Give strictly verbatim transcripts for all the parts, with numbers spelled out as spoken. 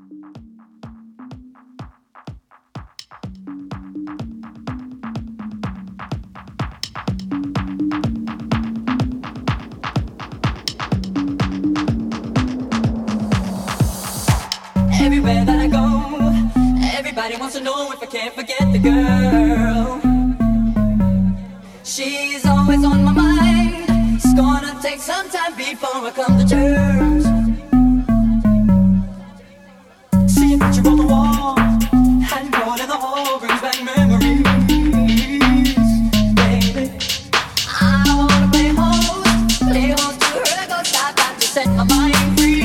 Everywhere that I go, everybody wants to know if I can't forget the girl. She's always on my mind. It's gonna take some time before I come to terms. See a picture on the wall, handboard in the hall brings back memories. Baby, I wanna play host, play host to her, go stop, got to set my mind free.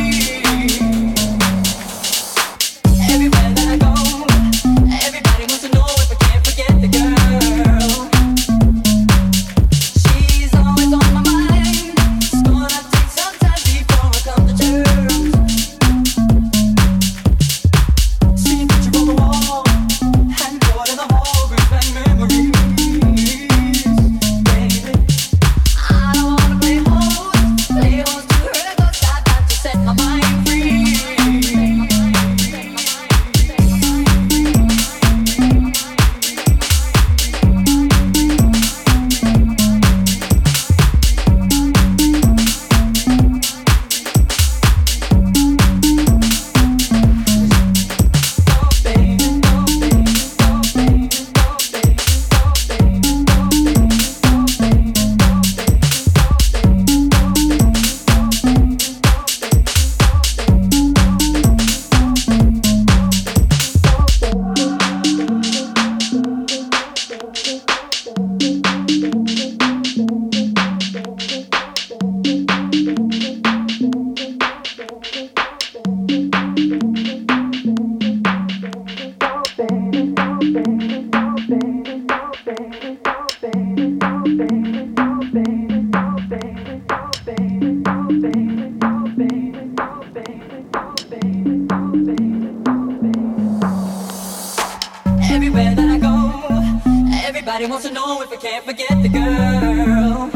Everywhere that I go, everybody wants to know if I can't forget the girl.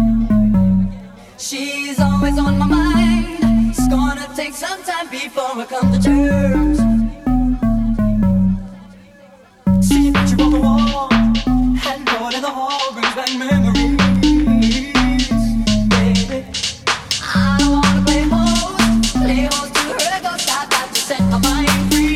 She's always on my mind. It's gonna take some time before I come to terms. See a picture on the wall, handboard in the hall brings back memories. Baby, I wanna play host, play host to her, go stop, got to set my mind free.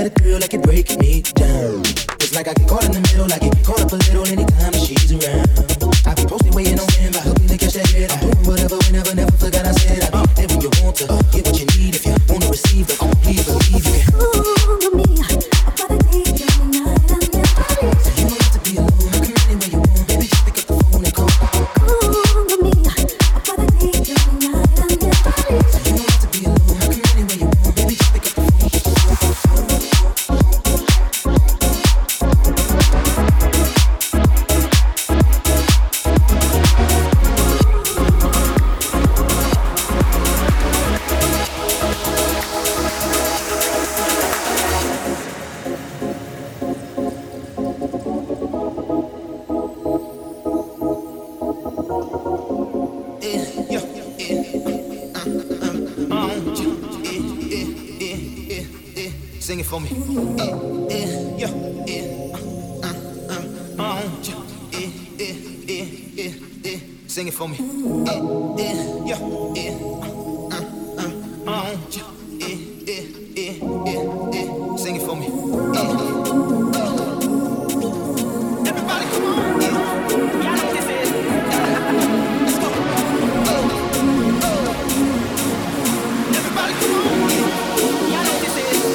got a girl like it breaking me down. It's like I get caught in the middle, I get caught up a little anytime that she's around. I be posting, waiting on him, I hope to catch that head. I'm doing whatever, whenever, never forgot I said I be there when you want to get what you need. If you wanna receive, but please believe you can. Ooh, me, I gotta take you tonight, I never leave. You don't have to be alone, I come anywhere you want. Baby, just pick up the phone and call. Ooh, me, I gotta take you tonight, I never leave. You don't have to be alone, I come anywhere you want. Baby, just pick up the phone. Sing it for me. Eh, eh, yeah, eh, uh, uh, uh, uh, eh, eh, eh, eh, eh. Sing it for me. Eh, eh, yeah, eh, uh, uh, uh, uh, eh, eh, eh, eh, eh. Sing it for me. Eh. Everybody, come on. Eh. Y'all know what this is. Let's go. Everybody, come on. Eh. Y'all know what this is.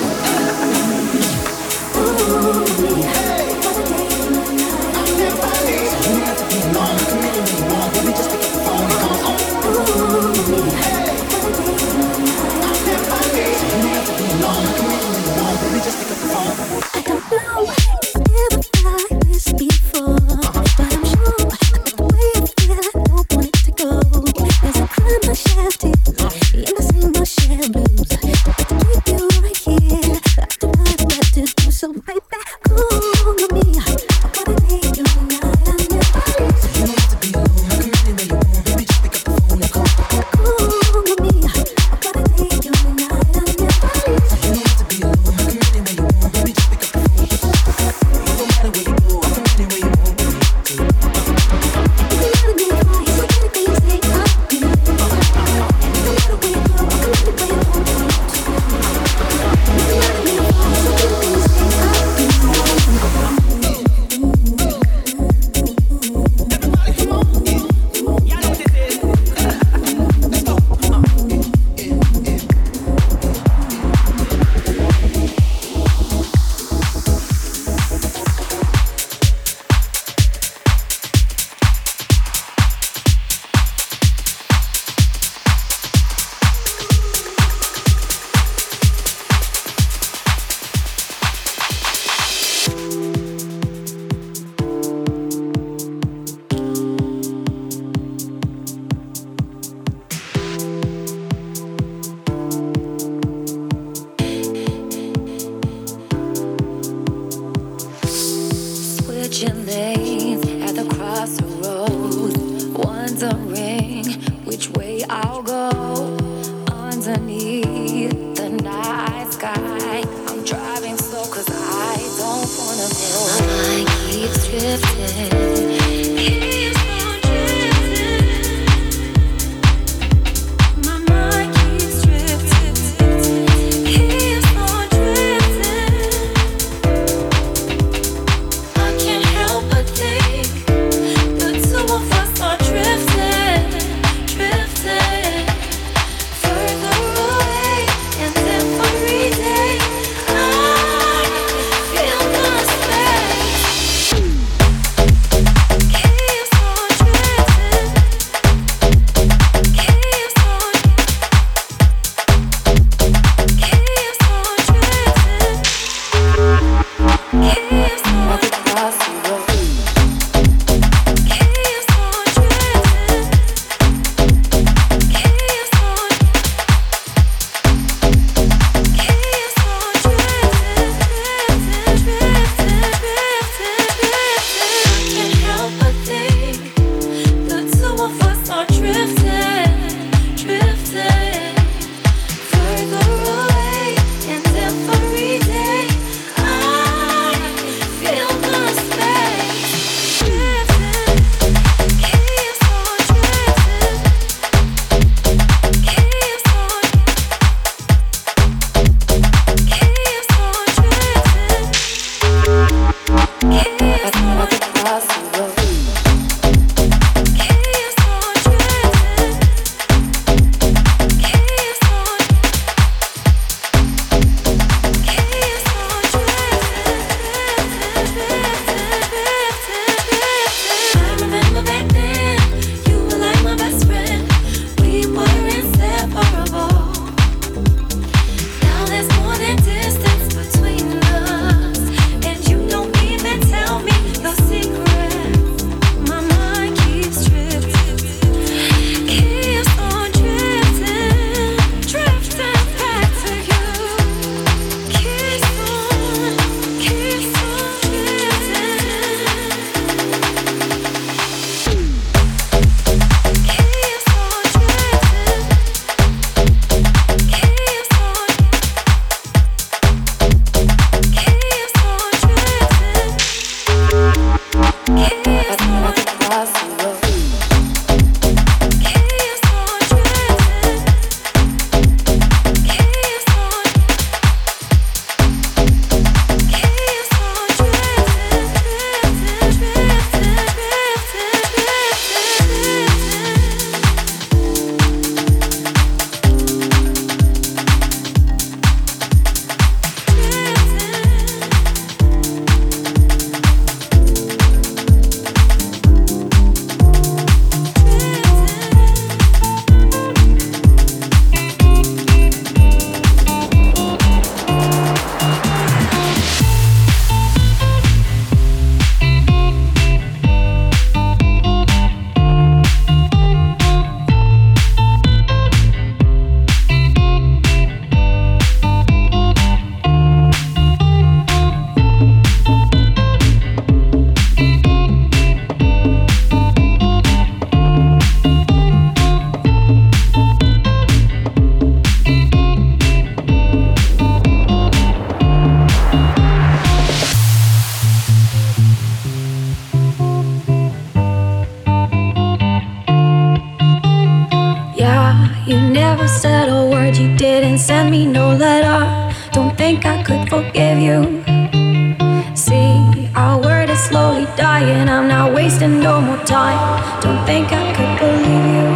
forgive you. See, our word is slowly dying. I'm not wasting no more time. Don't think I could believe you.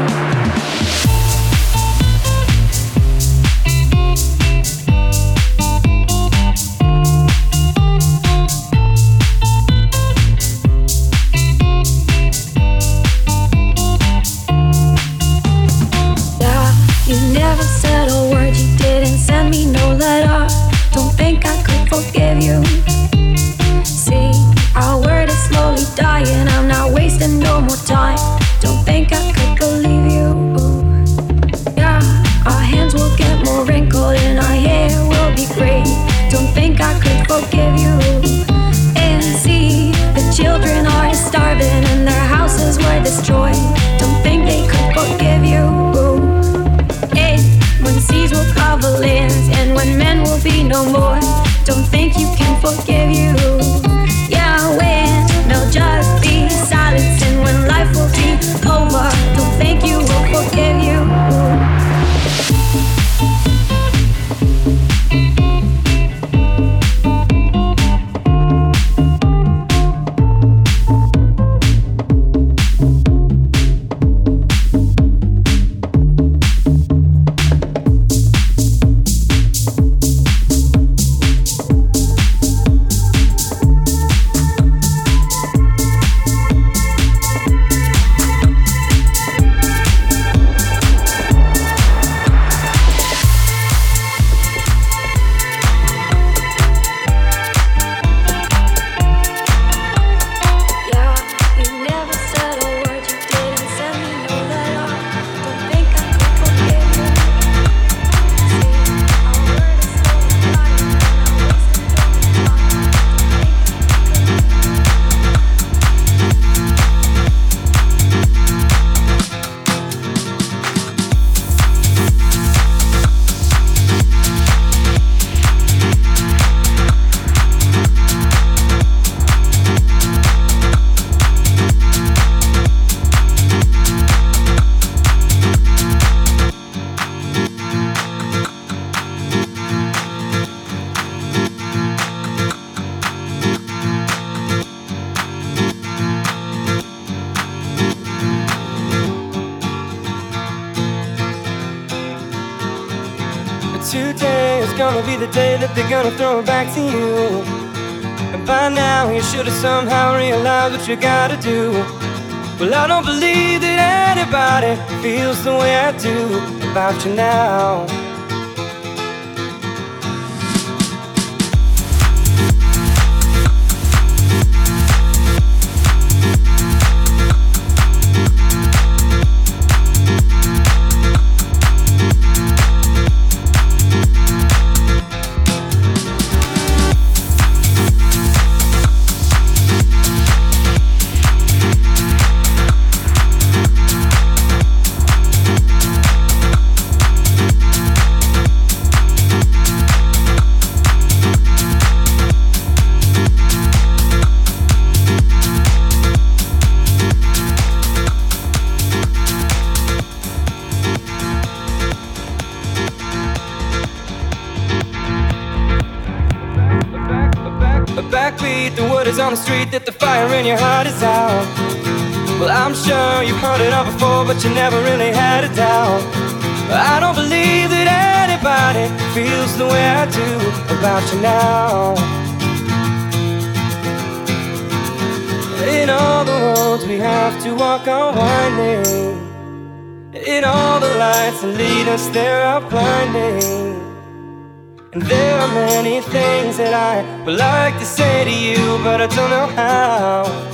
Forgive you. See, our word is slowly dying. I'm not wasting no more time. Don't think I could believe you. Yeah, our hands will get more wrinkled and our hair will be gray. Don't think I could forgive you. And see, the children are starving and their houses were destroyed. Don't think they could forgive you. And when seas will cover lands and when men will be no more. Don't think you can forgive you. Yeah, when there'll just be silence and when life will be over. Don't think you will forgive you. Today is gonna be the day that they're gonna throw it back to you. And by now you should have somehow realized what you gotta do. Well, I don't believe that anybody feels the way I do about you now. The word is on the street that the fire in your heart is out. Well, I'm sure you've heard it all before, but you never really had a doubt. I don't believe that anybody feels the way I do about you now. In all the roads we have to walk are winding. In all the lights that lead us there are blinding. And there are many things that I would like to say to you, but I don't know how.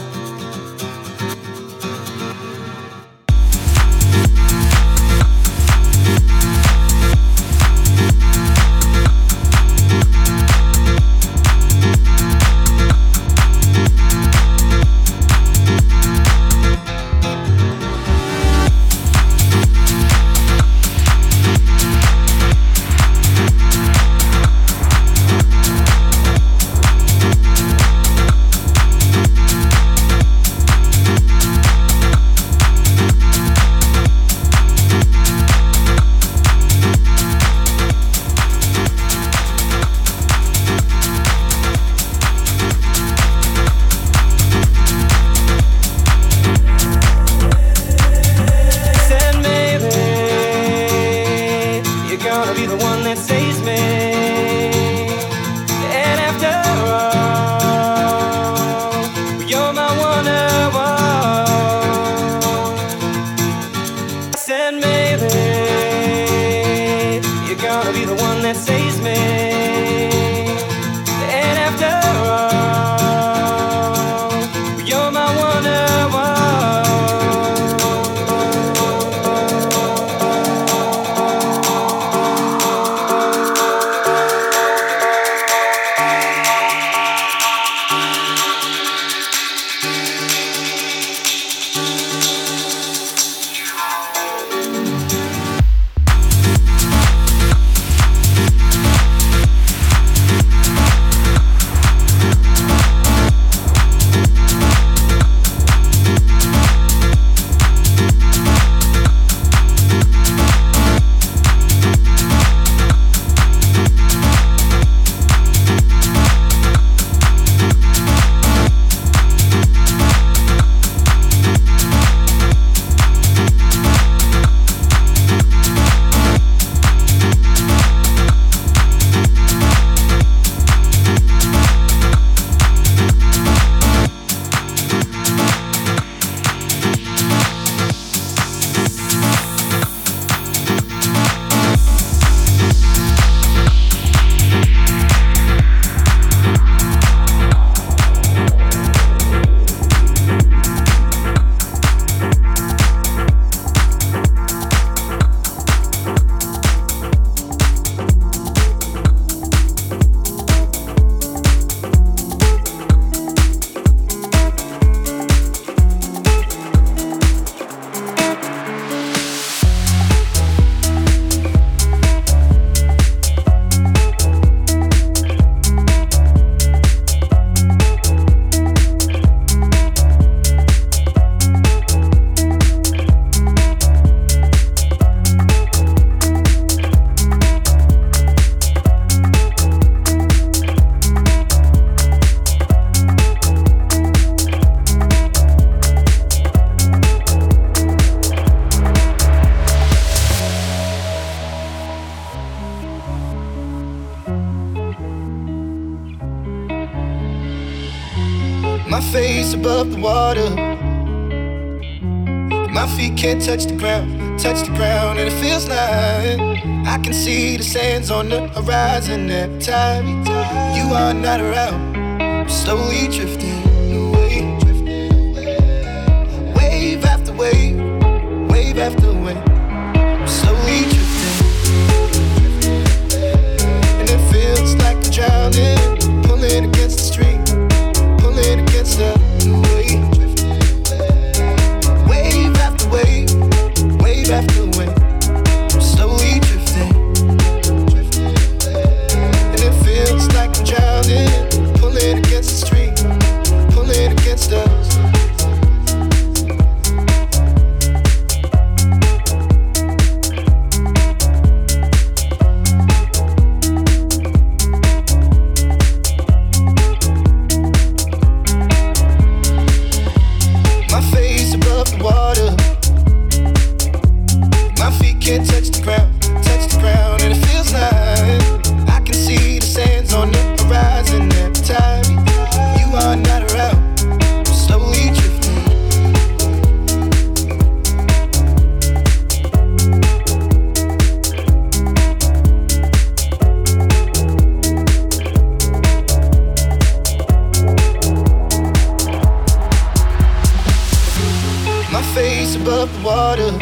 My face above the water. My feet can't touch the ground, touch the ground, and it feels like I can see the sands on the horizon every time you are not around. I'm slowly drifting away, wave after wave, wave after wave. I'm slowly drifting, and it feels like I'm drowning, pulling against the stream, pulling against the wave. Wave after wave, wave after wave, I'm slowly drifting, and it feels like I'm drowning, pulling against the stream, pulling against us. Can't touch the ground, touch the ground, and it feels like I can see the sands on the horizon every time you are not around. I'm slowly drifting, my face above the water.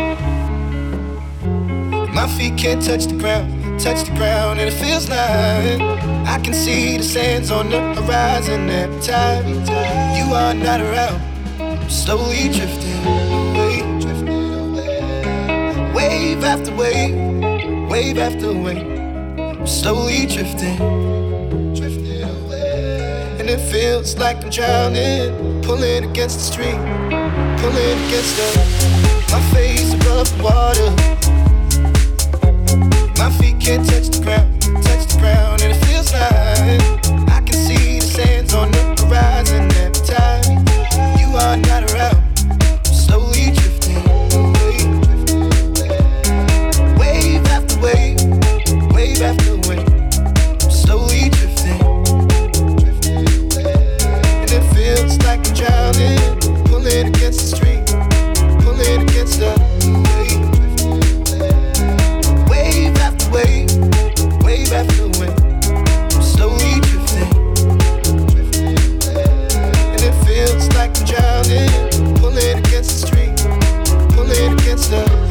My feet can't touch the ground, touch the ground, and it feels like I can see the sands on the horizon every time you are not around. I'm slowly drifting away, drifting away, wave after wave, wave after wave. I'm slowly drifting, drifting away, and it feels like I'm drowning, pulling against the stream, pulling against the. My face above the water. My feet can't touch the ground, touch the ground, and it feels like I can see the sands on the horizon every time you are not around. I'm slowly drifting away, wave after wave, wave after wave. I'm slowly drifting, and it feels like I'm drowning, pulling against the stream, pulling against the wave. Wave, wave after wave, I'm slowly drifting, and it feels like I'm drowning, pulling against the stream, pulling against the.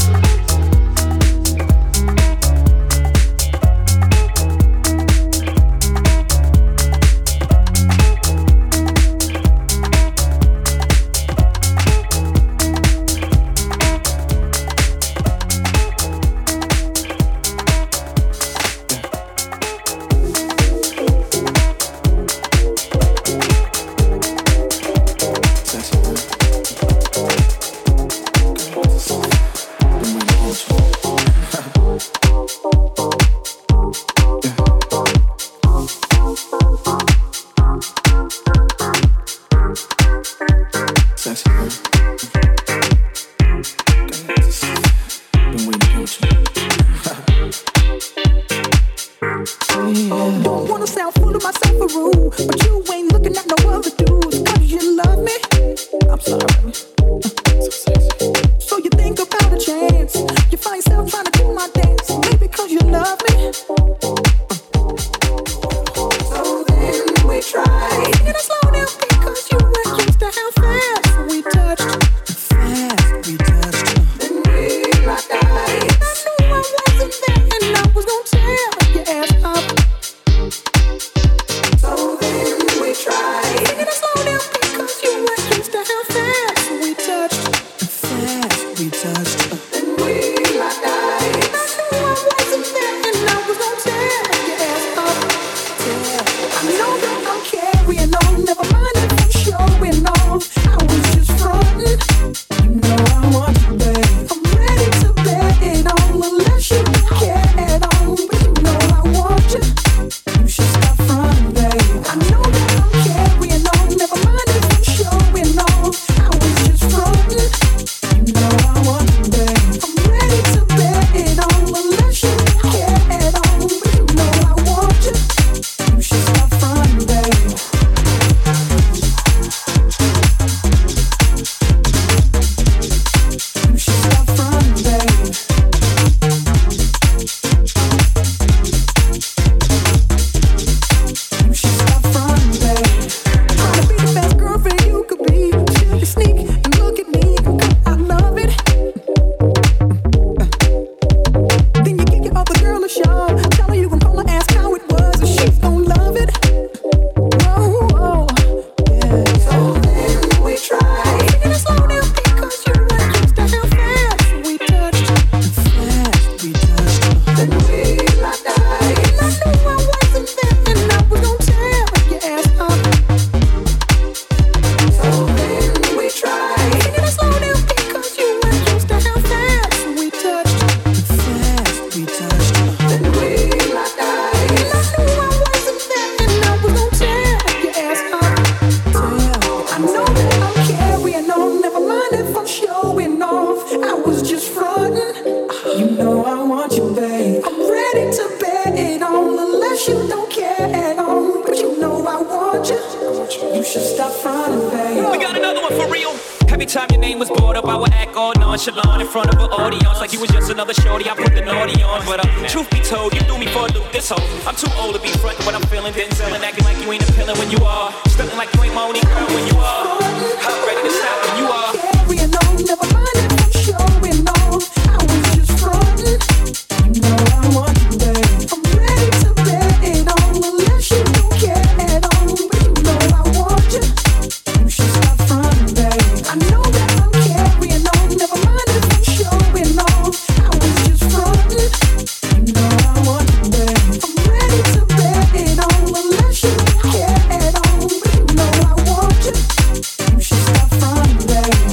should stop fronting, babe. We got another one for real. Every time your name was brought up, I would act all nonchalant in front of an audience, like you was just another shorty. I put the naughty on, but uh, truth be told, you threw me for a loop. This hoe, I'm too old to be frontin' what I'm feeling. Denzel and acting like you ain't appealing when you are, stuntin' like you ain't my only girl when you are. I'm ready to stop when you are. Carrying on, never mind if I'm showing off. I was just frontin'. You know I want you, babe. I'm ready to bet it on, unless you don't care at all. But you know I want you. You should stop frontin', babe. I know that I'm carrying on, never mind if I'm showing off. I was just frontin'. You know I want you, babe. I'm ready to bet it on, unless you don't care at all. But you know I want you. You should stop frontin', babe.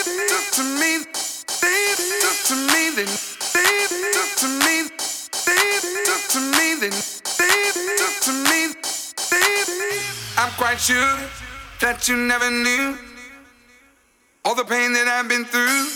talk to me. They talk to me. Then they talk to me. They talk to me. Then they talk to me. They. I'm quite sure that you never knew all the pain that I've been through.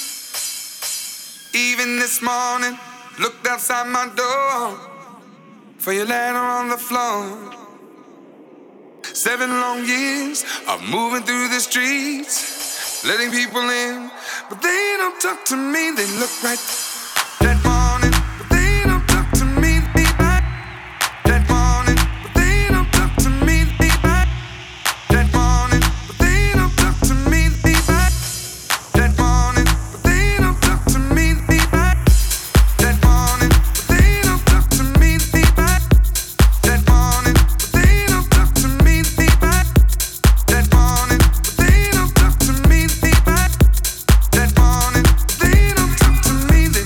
Even this morning, looked outside my door for your letter on the floor. Seven long years of moving through the streets, letting people in, but they don't talk to me. They look right that morning, but they don't talk to me. That morning, but they don't talk to me. That morning, but they don't talk to me. That morning, but they don't talk to me. That morning, but they don't talk to me. That morning, but they don't talk to me. That morning, but they don't talk to me. That morning, but they don't talk to me.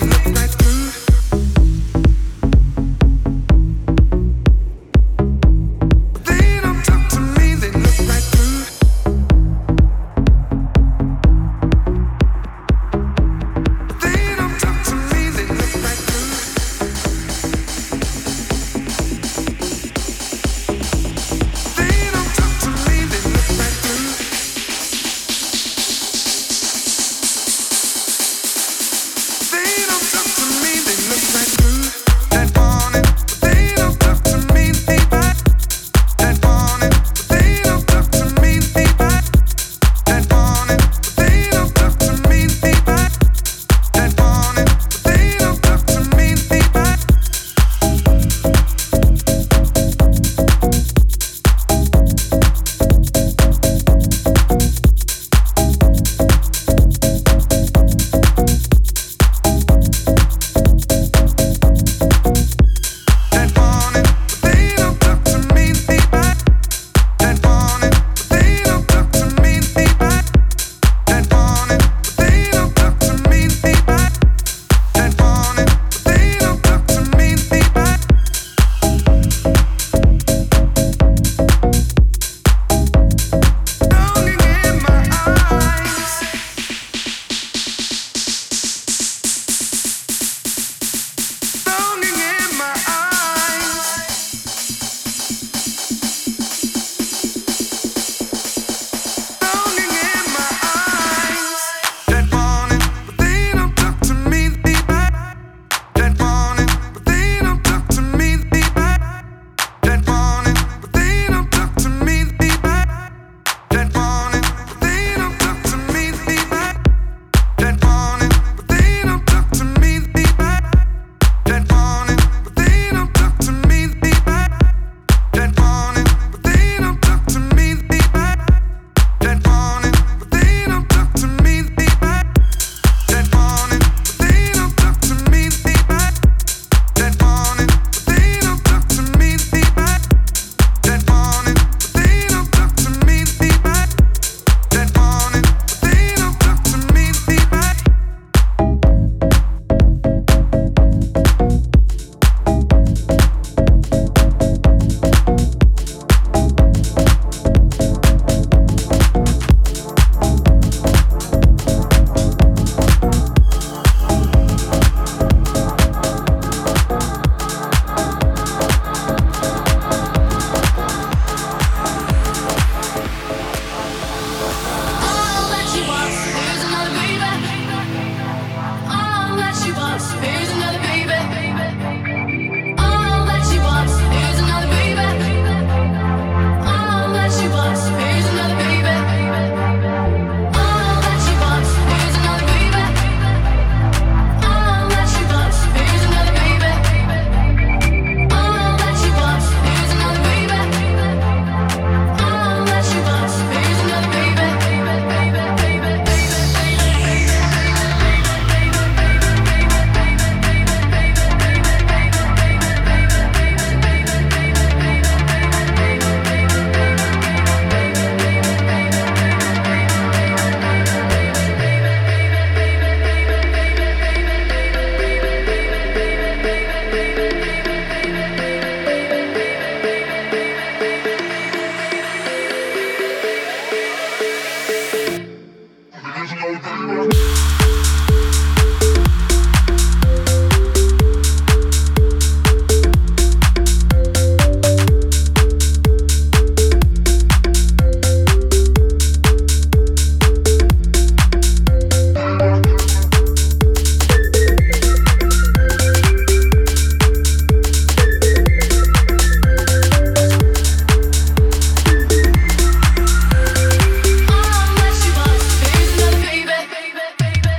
Baby,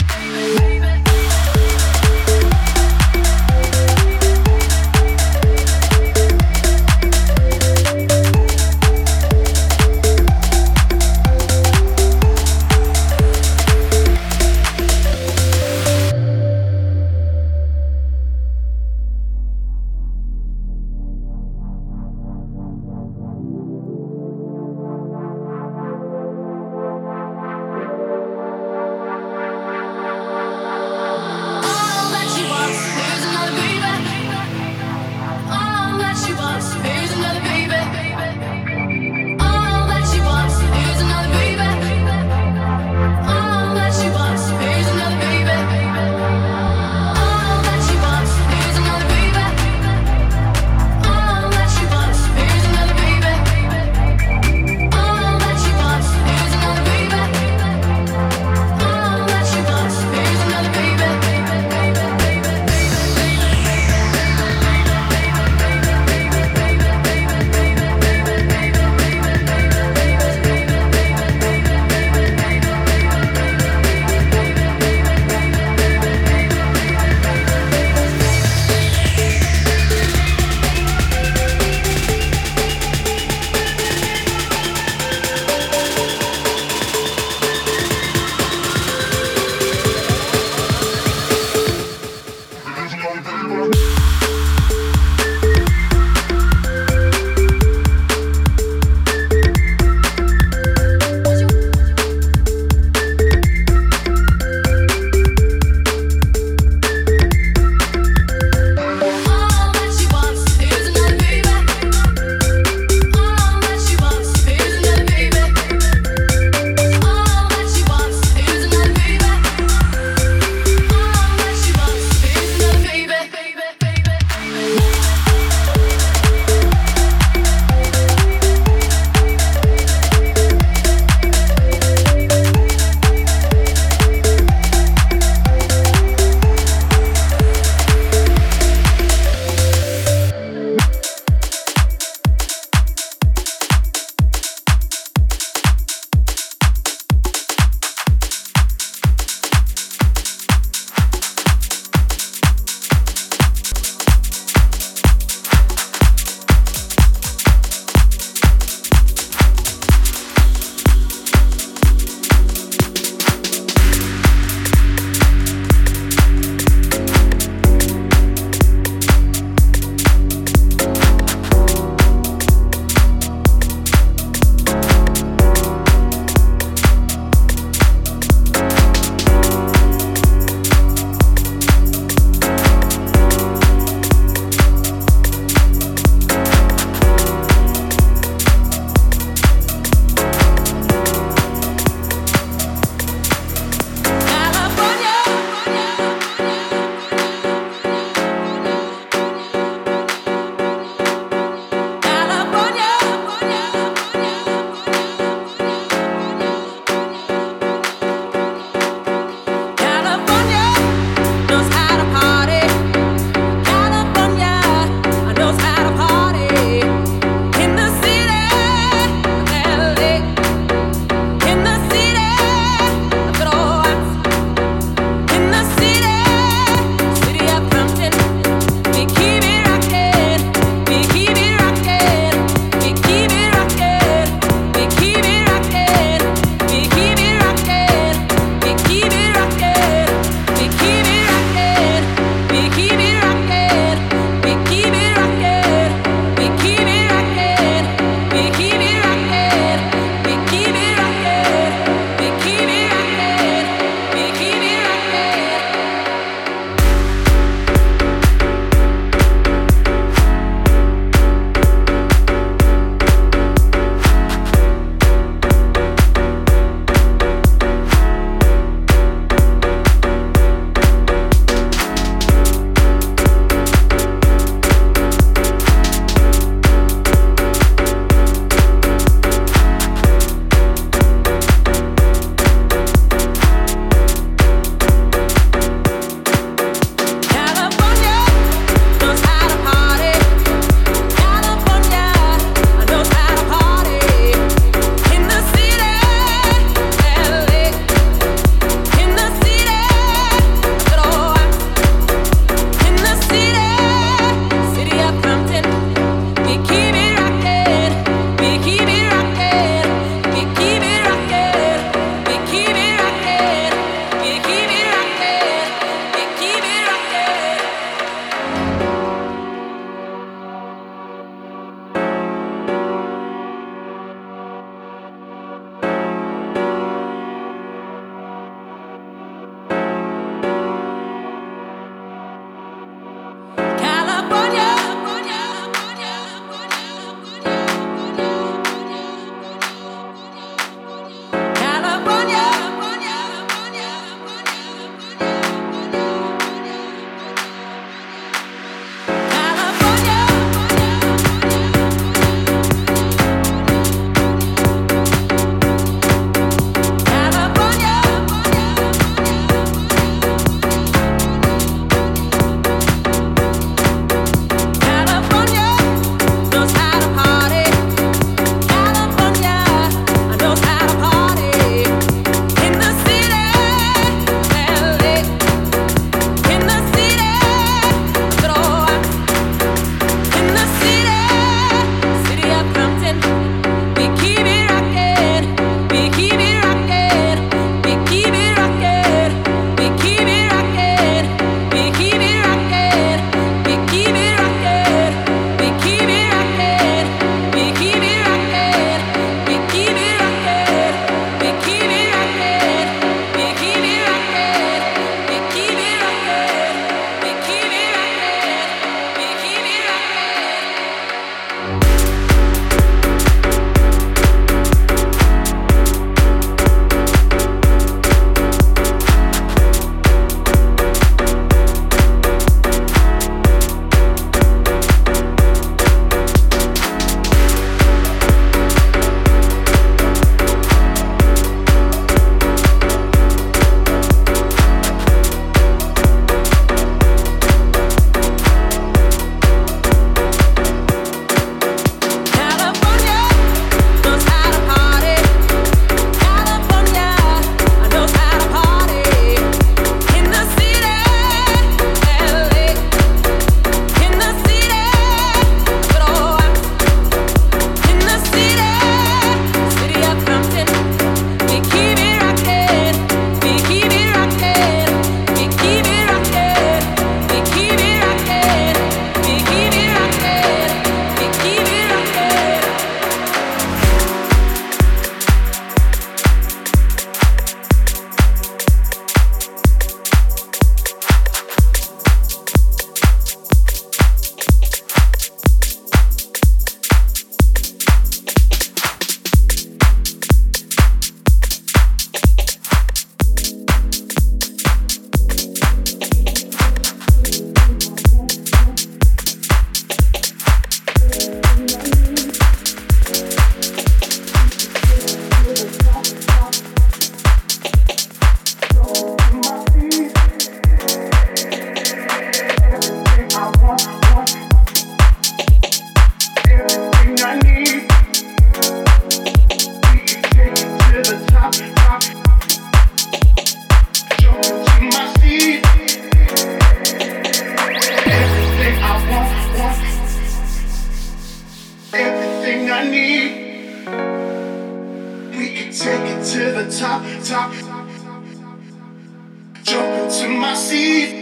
to my seat.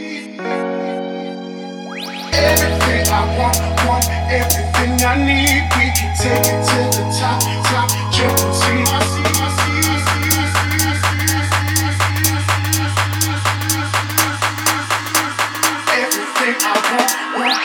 Everything I want, want, everything I need. We can take it to the top, top, jump into my seat, my seat. Everything I want, want.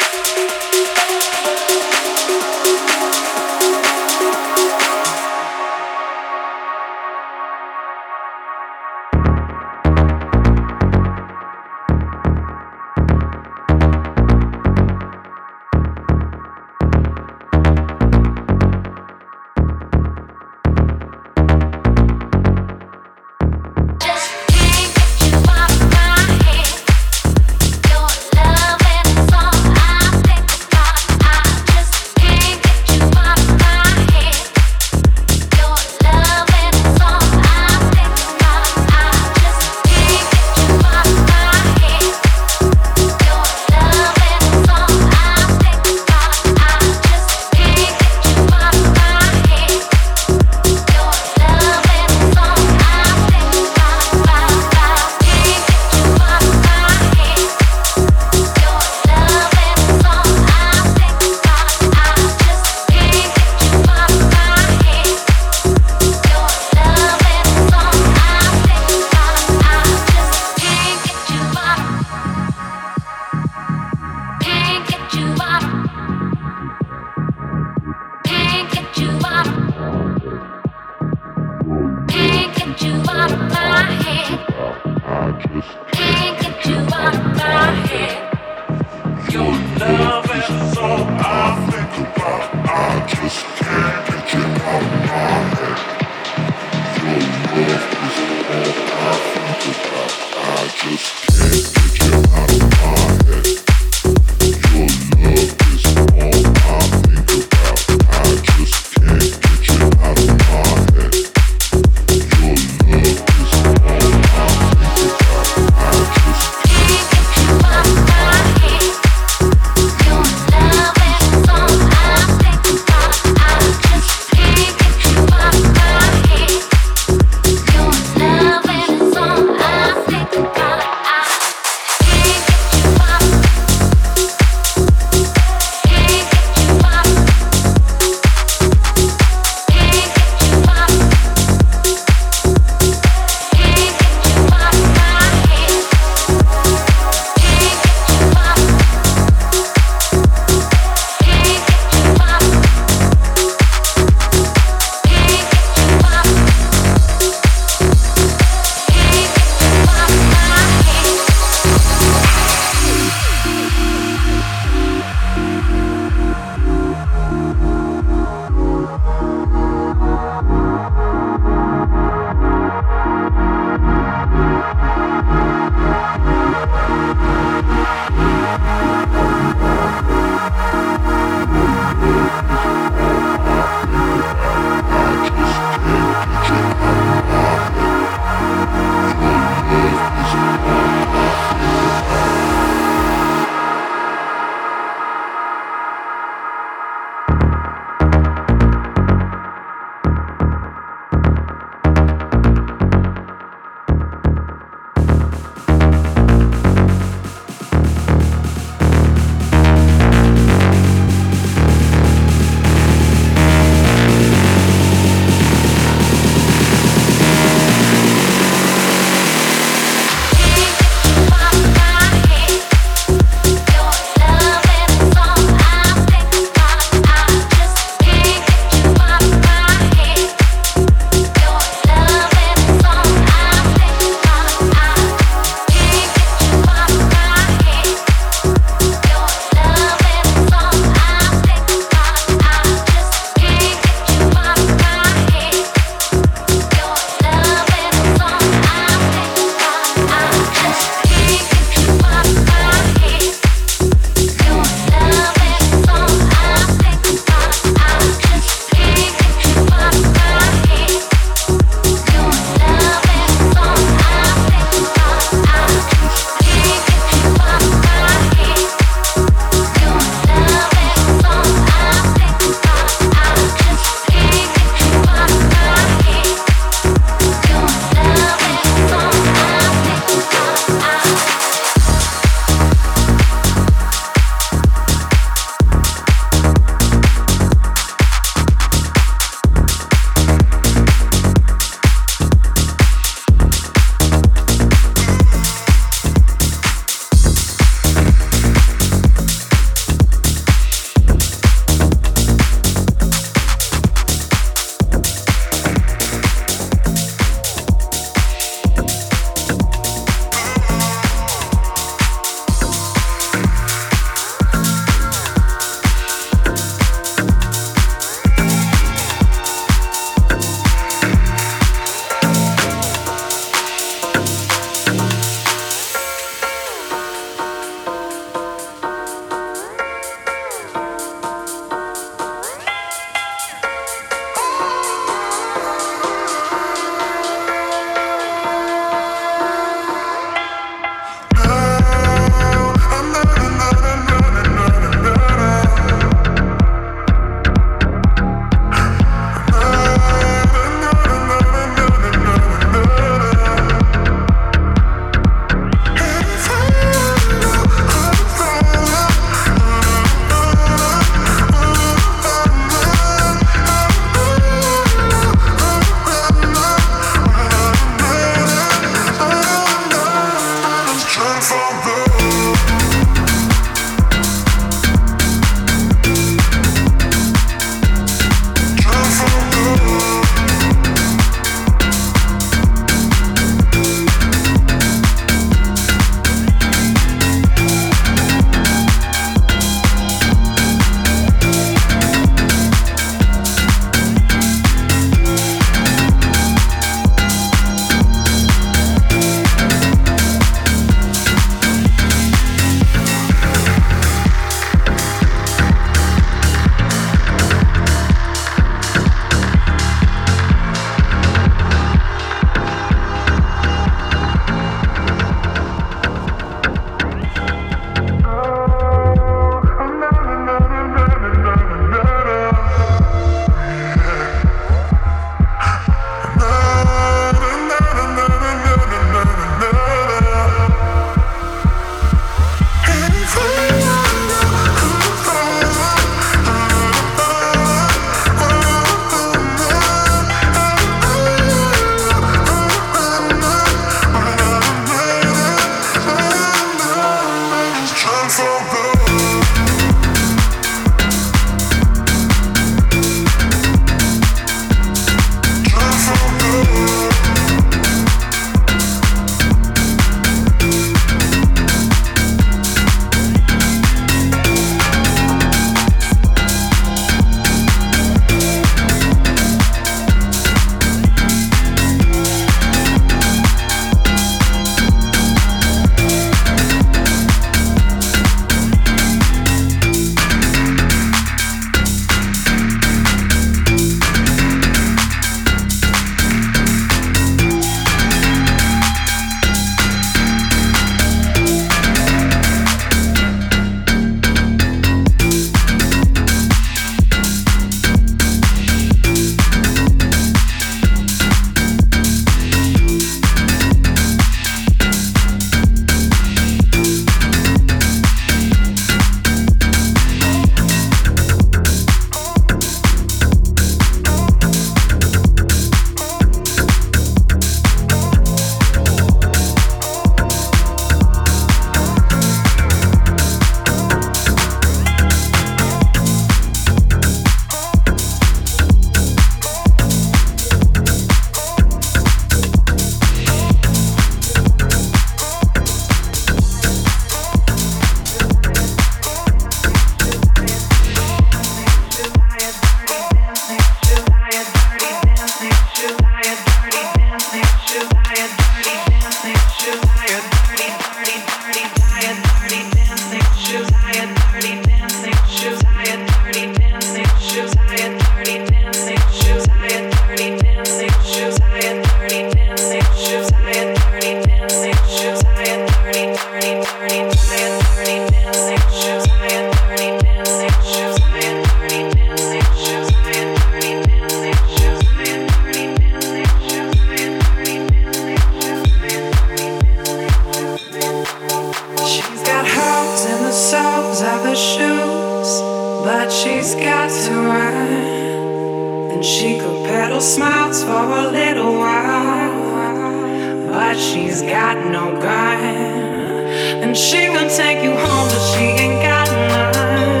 she's got to run. And she could peddle smiles for a little while, but she's got no gun. And she gon' take you home, but she ain't got none.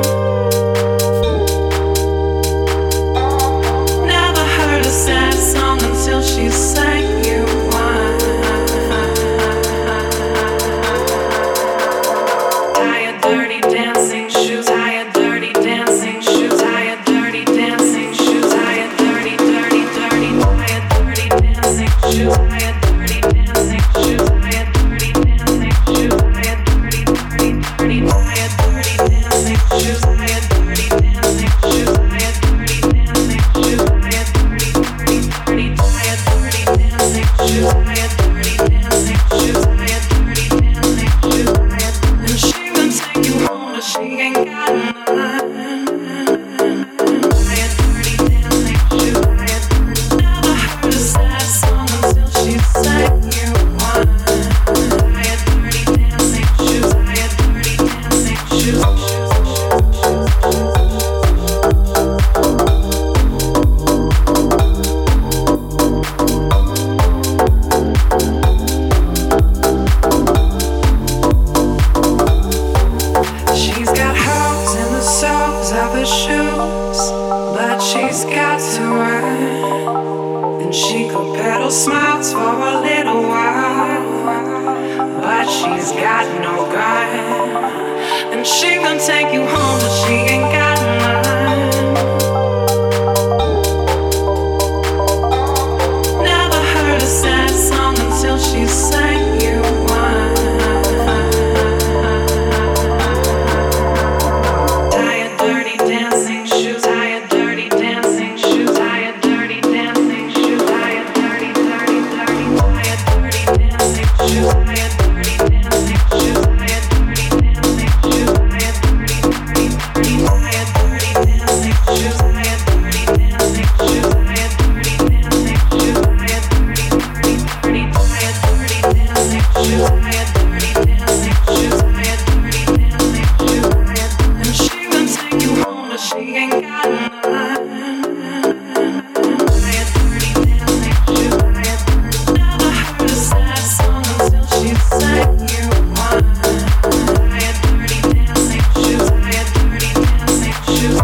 Never heard a sad song until she sang you one. Tie your dirty dancing shoes, tie your dirty dancing shoes, tie your dirty dancing shoes, tie your dirty, dirty, dirty, tie your dirty dancing shoes, tie your dirty dancing shoes, tie your dirty dancing shoes, tie your dirty, dirty, dirty, tie your dirty dancing shoes, tie your dirty dancing shoes, tie your dirty dancing shoes, tie your dirty, dirty, dirty, tie your dirty dancing shoes, tie your dirty dancing shoes, tie your dirty dancing shoes, tie your. And she gon' take you home, but she ain't got none. Tie your dirty dancing shoes, tie your. Never heard a sad song until she sang you one. Tie your dirty dancing shoes, tie your dirty dancing shoes. She's got holes in the soles of her shoes, but she's got to run. And she could peddle smiles for a little while, but she's got no gun. And she gon' take you home, but she ain't got none. Never heard a sad song until she sang you one. Tie your dirty dancing shoes, tie your dirty dancing shoes, tie your dirty dancing shoes, tie your dirty, dirty, dirty, tie your dirty dancing shoes, tie your dirty dancing shoes, tie your dirty dancing shoes, tie your dirty, dirty, dirty, tie your dirty dancing shoes, tie your dirty dancing shoes, tie your dirty dancing shoes, tie your dirty, dirty, dirty, tie your dirty dancing shoes, tie your dirty dancing shoes, tie your dirty dancing shoes, tie your. And she gon' take you home, but she ain't got none. Tie your dirty dancing shoes, tie your. Never heard a sad song until she sang you one. Tie your dirty dancing shoes, tie your dirty dancing shoes.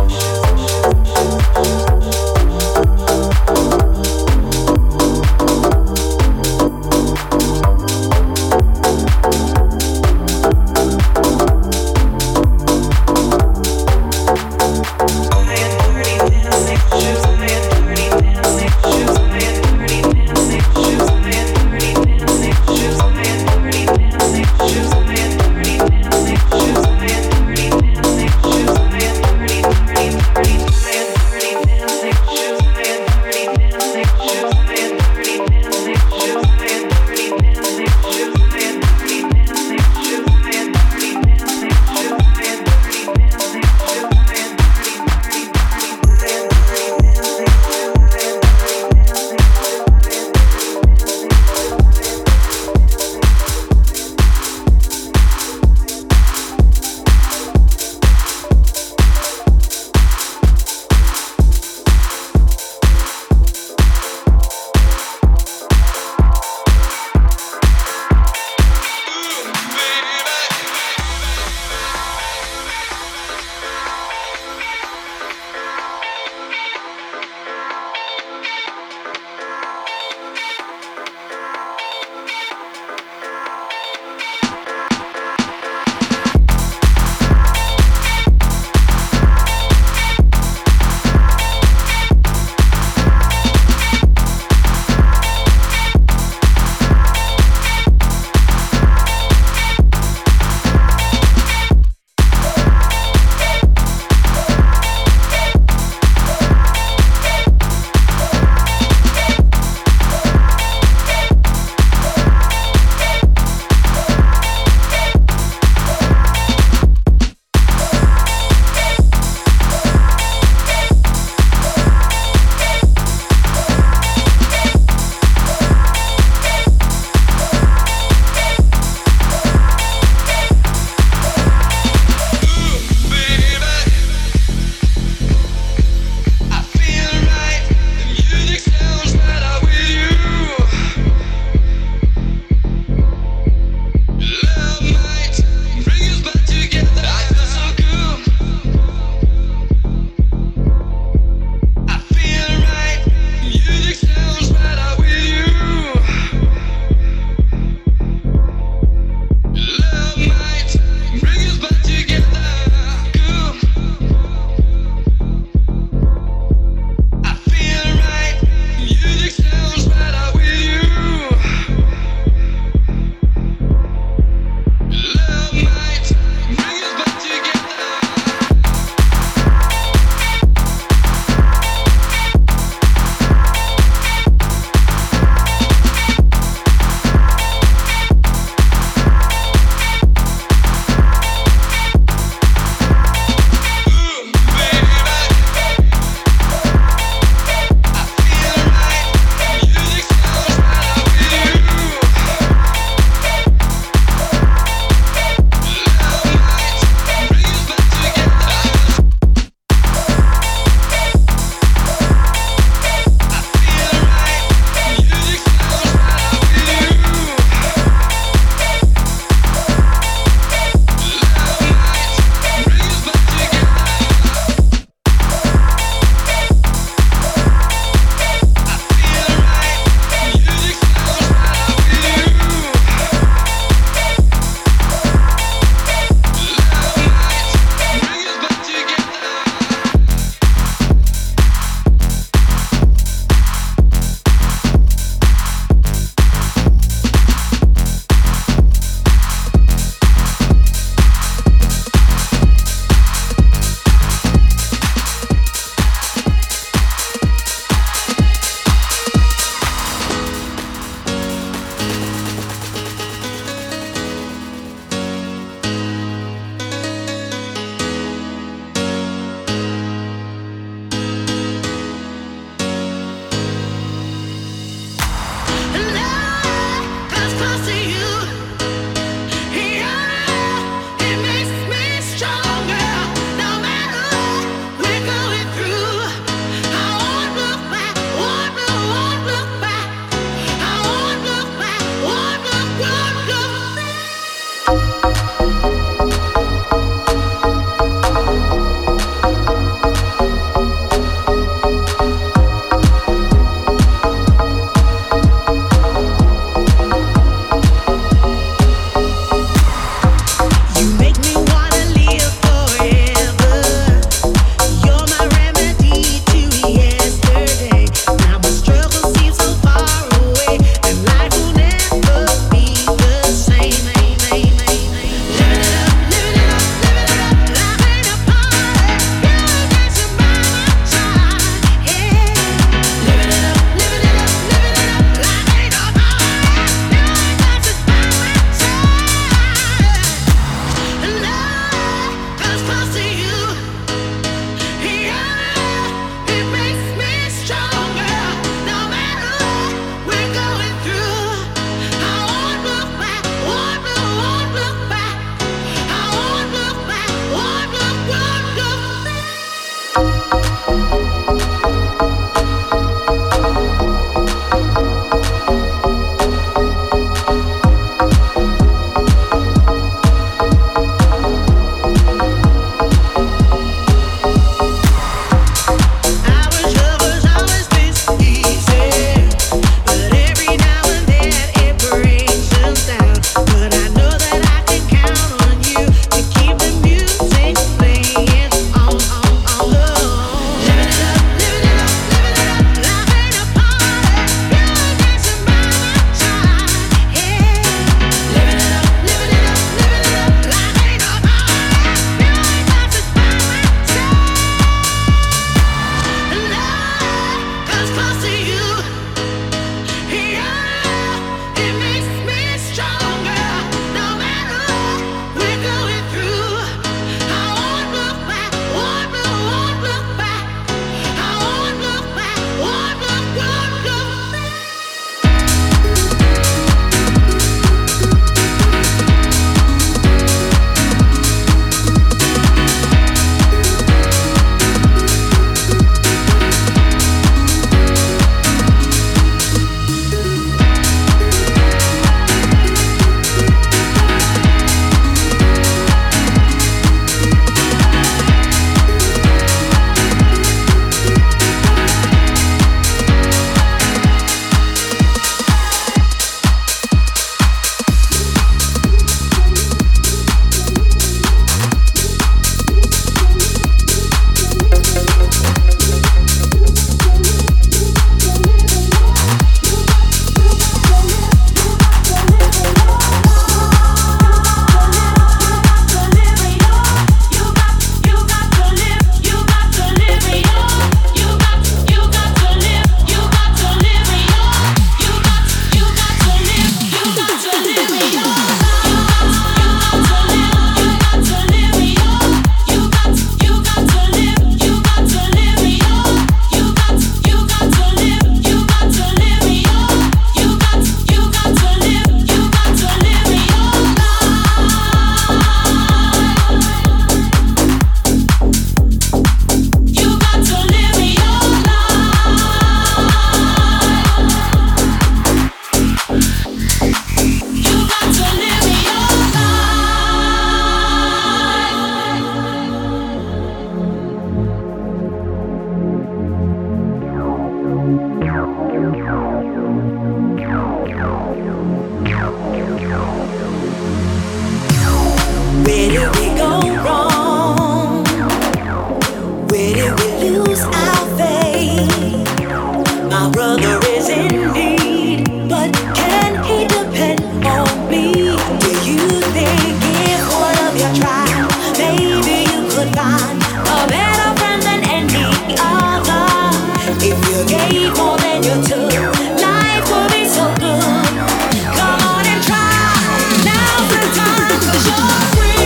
Where did we go wrong? Where did we lose our faith? My brother is in need, but can he depend on me? Do you think if one of you tried, maybe you could find a better friend than any other? If you gave more than you took, life would be so good. Come on and try. Now's the time, 'cause you're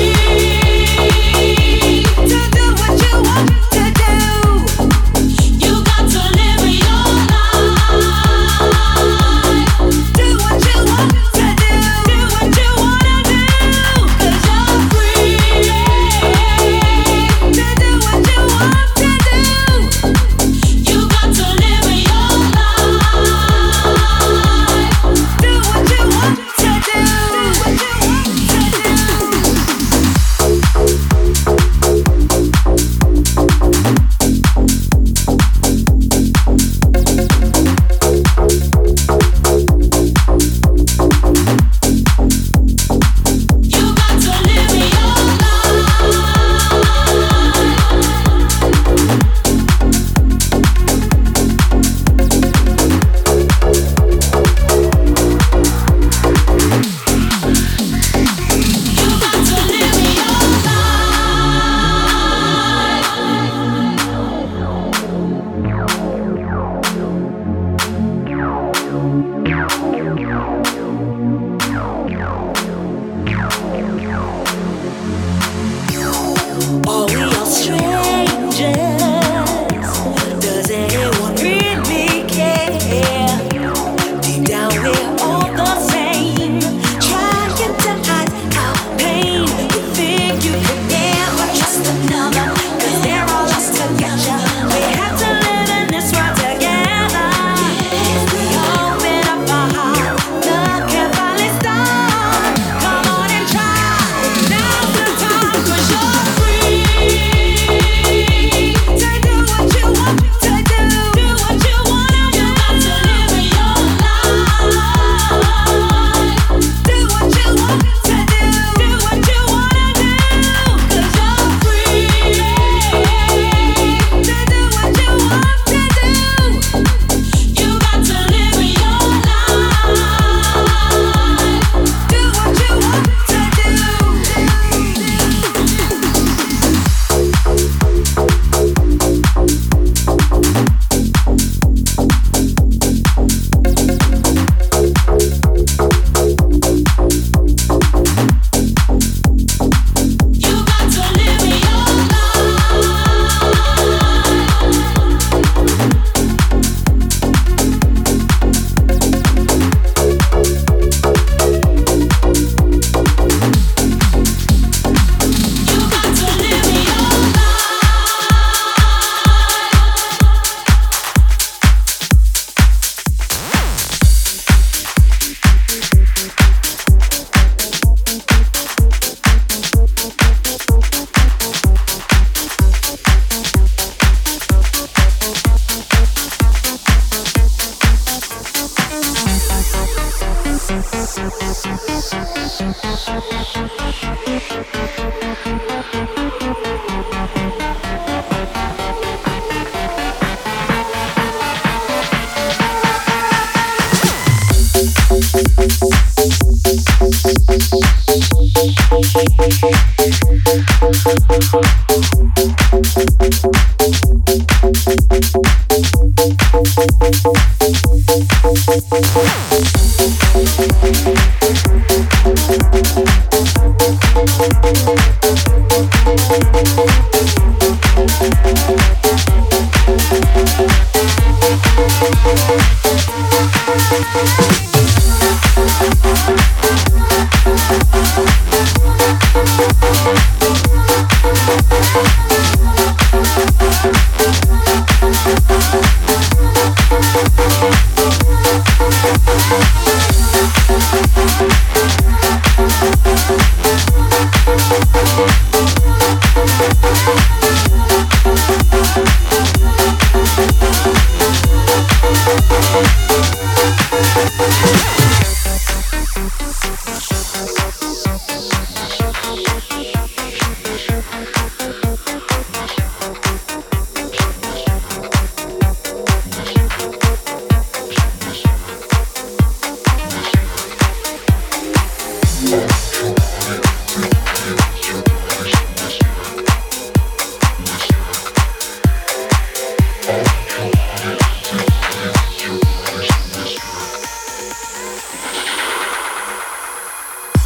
free to do what you want to do. You got to live your life. Do what you want to do. Do what you wanna do. 'Cause you're free to do what you want to do. You got to live your life. Do what you want to do. Do what you want Are we all strangers? Does anyone really care? Deep down we're all the same, trying to hide our pain. You think you could never trust another, 'cause they're all lost together. We have to live in this world together. We open up our hearts, love can finally start. Come on and try. Now's the time, 'cause you're free to do what you want to do. Do what you wanna do. You got to live your life. Do what you want to do. Do what you wanna do. 'Cause you're free to do what you want to do. You got to live your life. Do what you want to do. You got to live your You got to live your We'll be right back.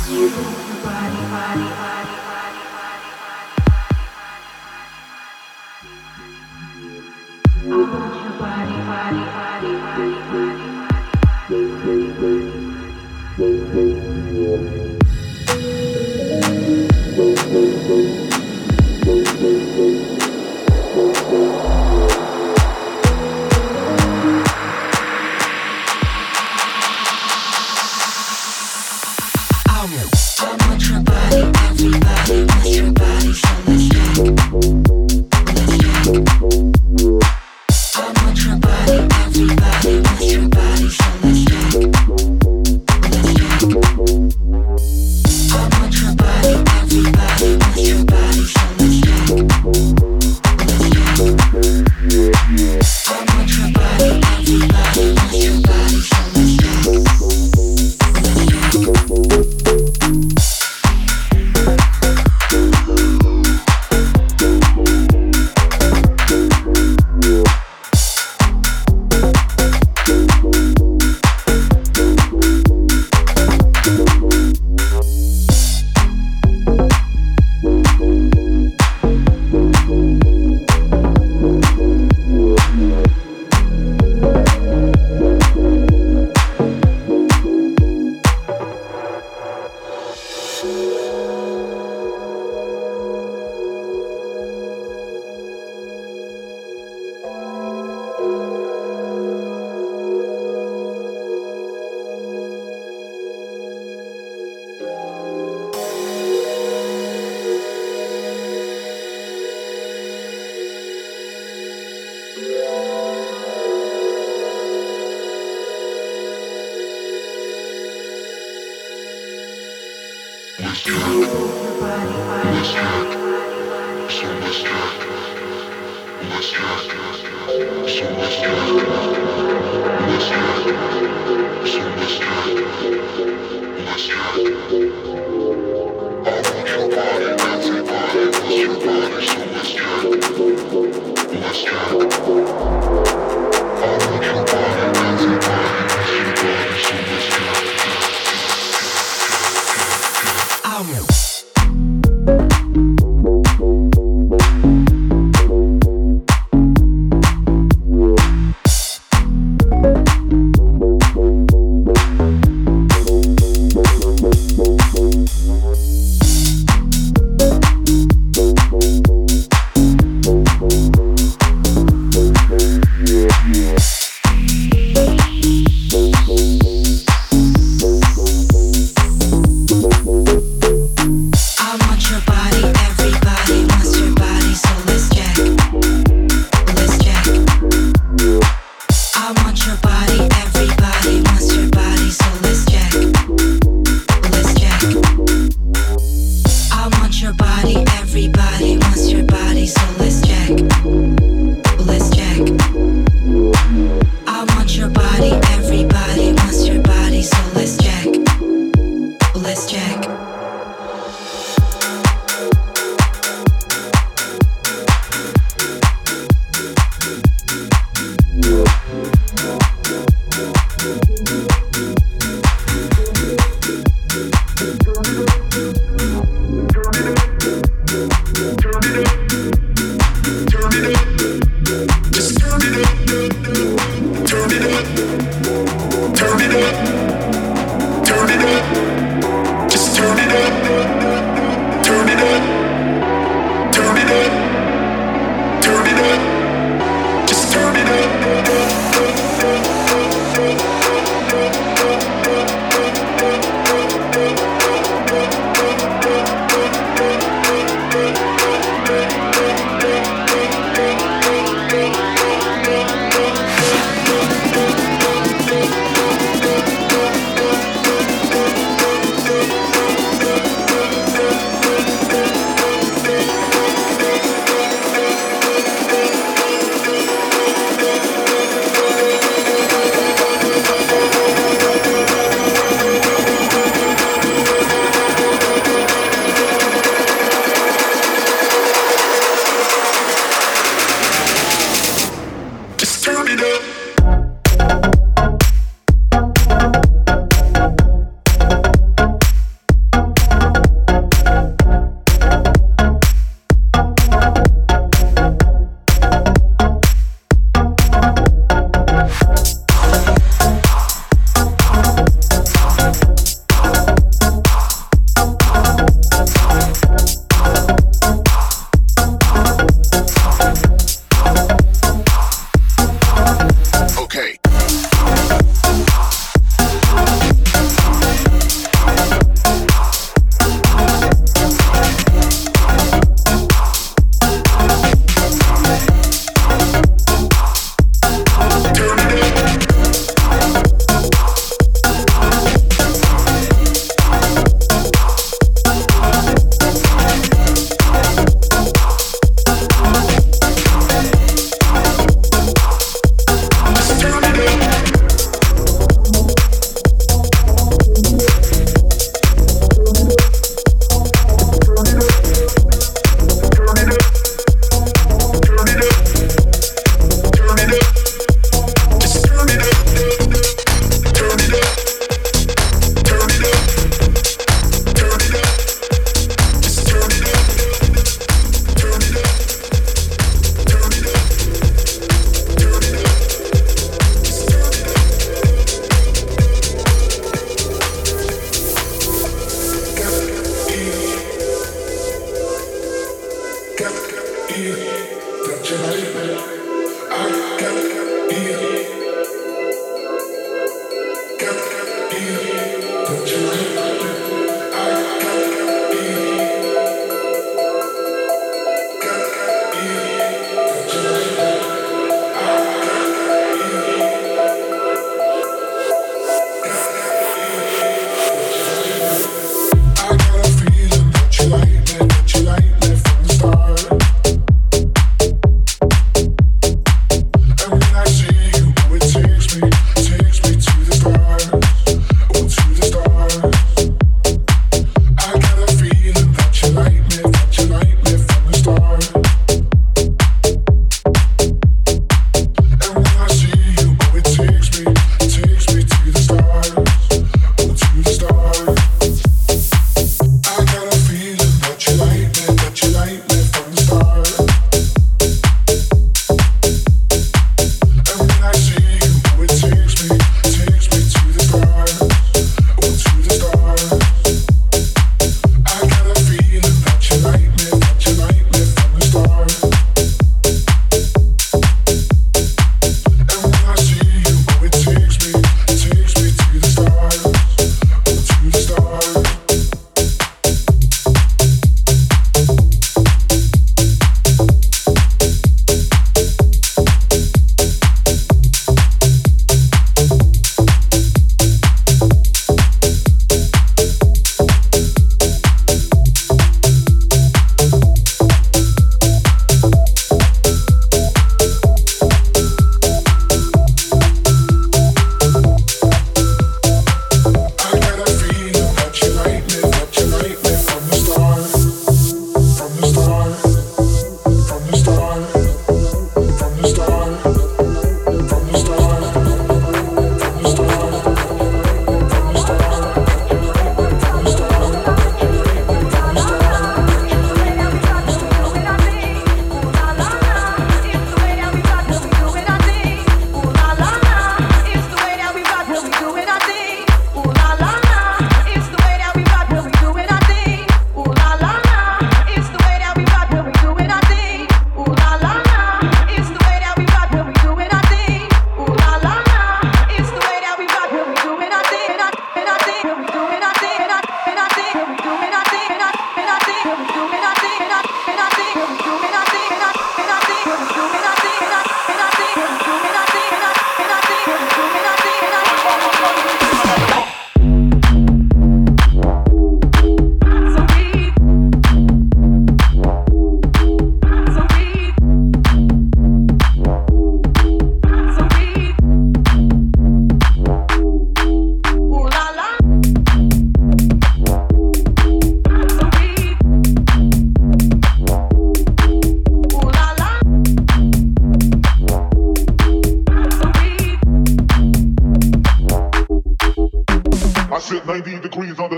Just turn it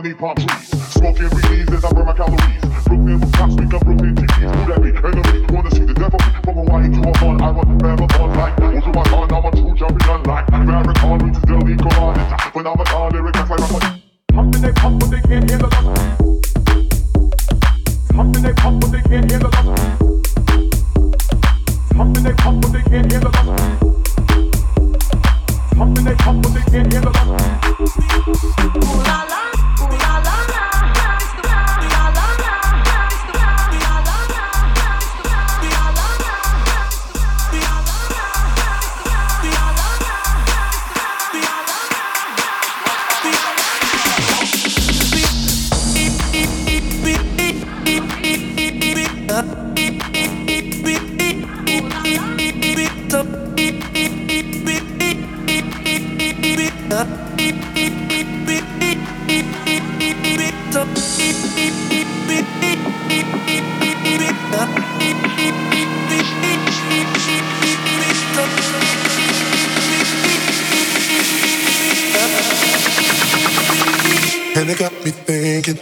beneath palm trees. Smoking leaves as I burn my calories. Brooklyn rooftops, speak up Brooklyn T Vs. Who that be? Enemy, wanna see the devil? From Hawaii to Hawaiian, I'm a marathon like. Over my gun, I'm a true champion like. Farrakhan reaches Delhi, Quran. Phenomenon, lyric, that's like I'm pumping, they pump, but they can't hear the lust. Pumping, they pump, but they can't hear the lust. Pumping, they pump, but they can't hear the lust. Pumping, they pump, but they can't hear the lust. Ooh la la, ooh la la la, it's the la la la la, it's the la la la la, it's the la la la la, it's the la la la And it got me thinking.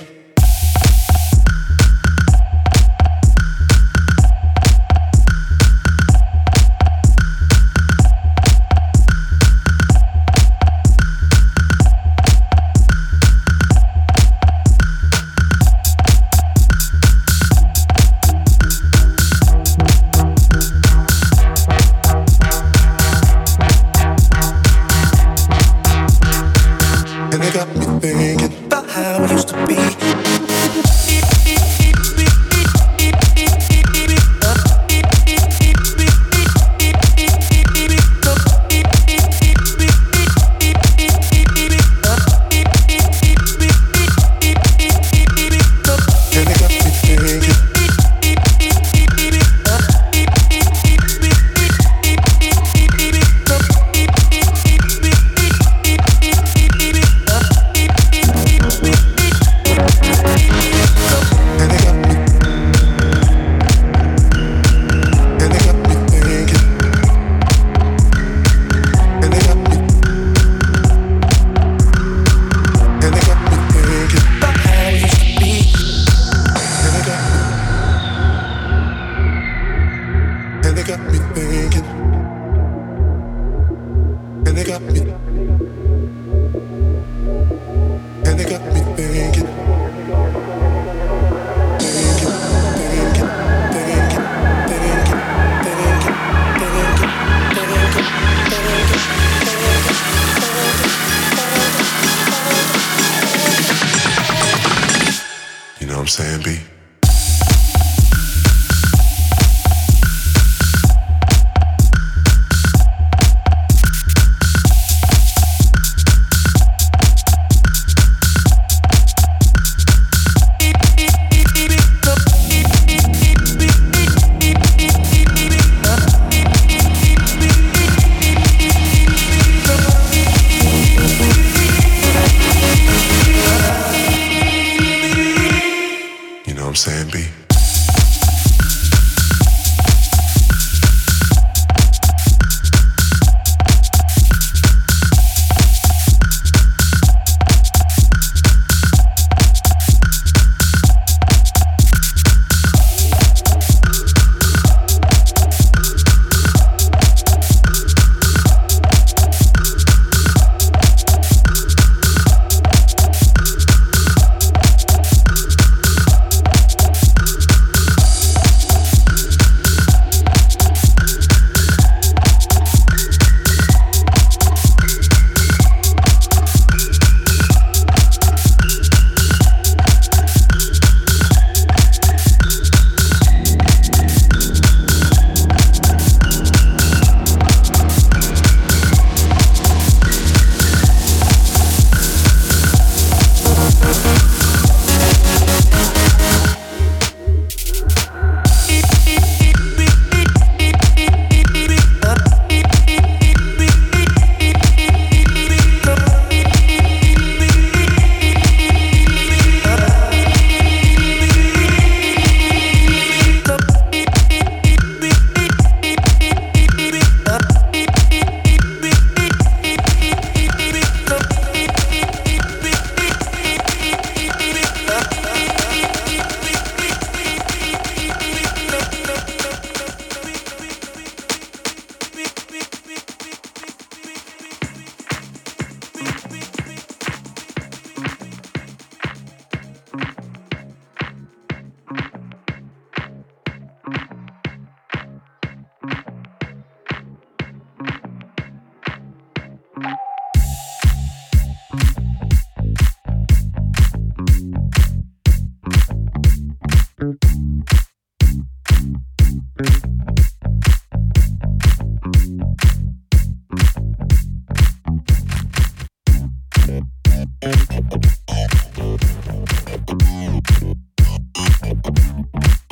And it got me thinking about how it used to be. You know what I'm saying, B? You know what I'm saying, B?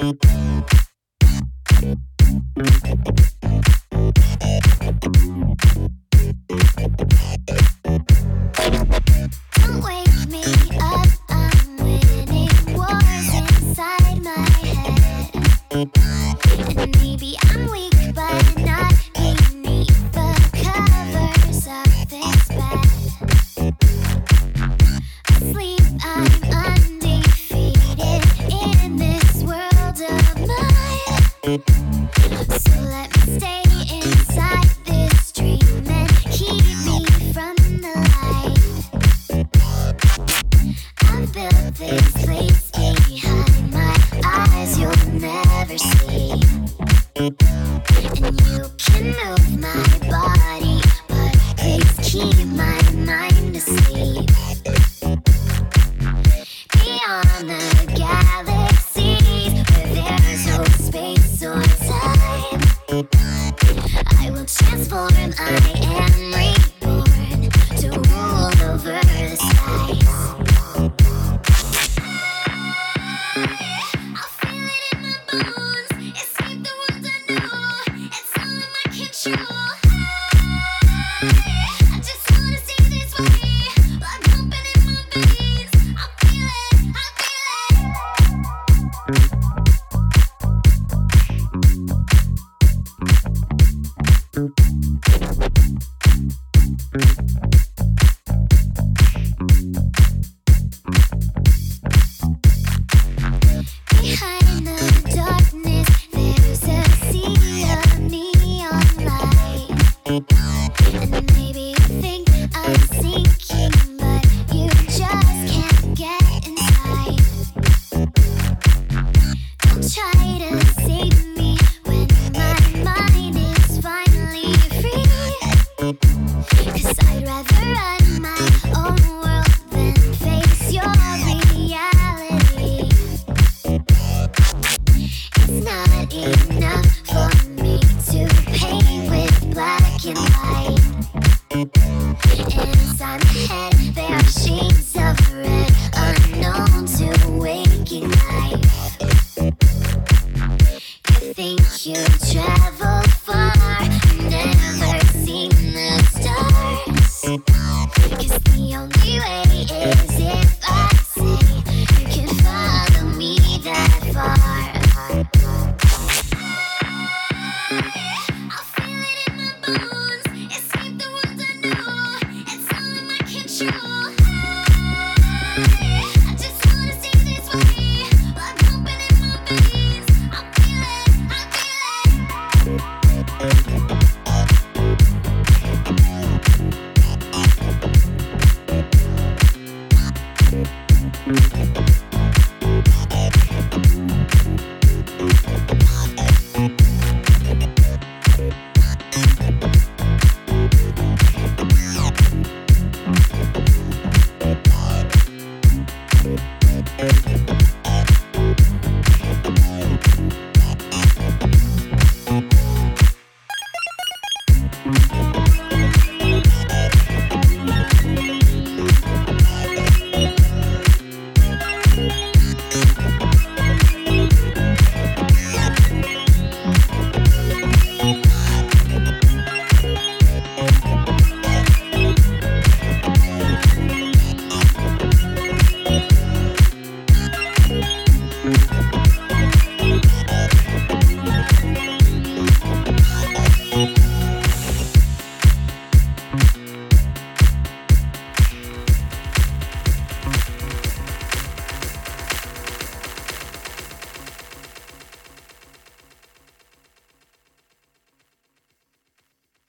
We'll be right back.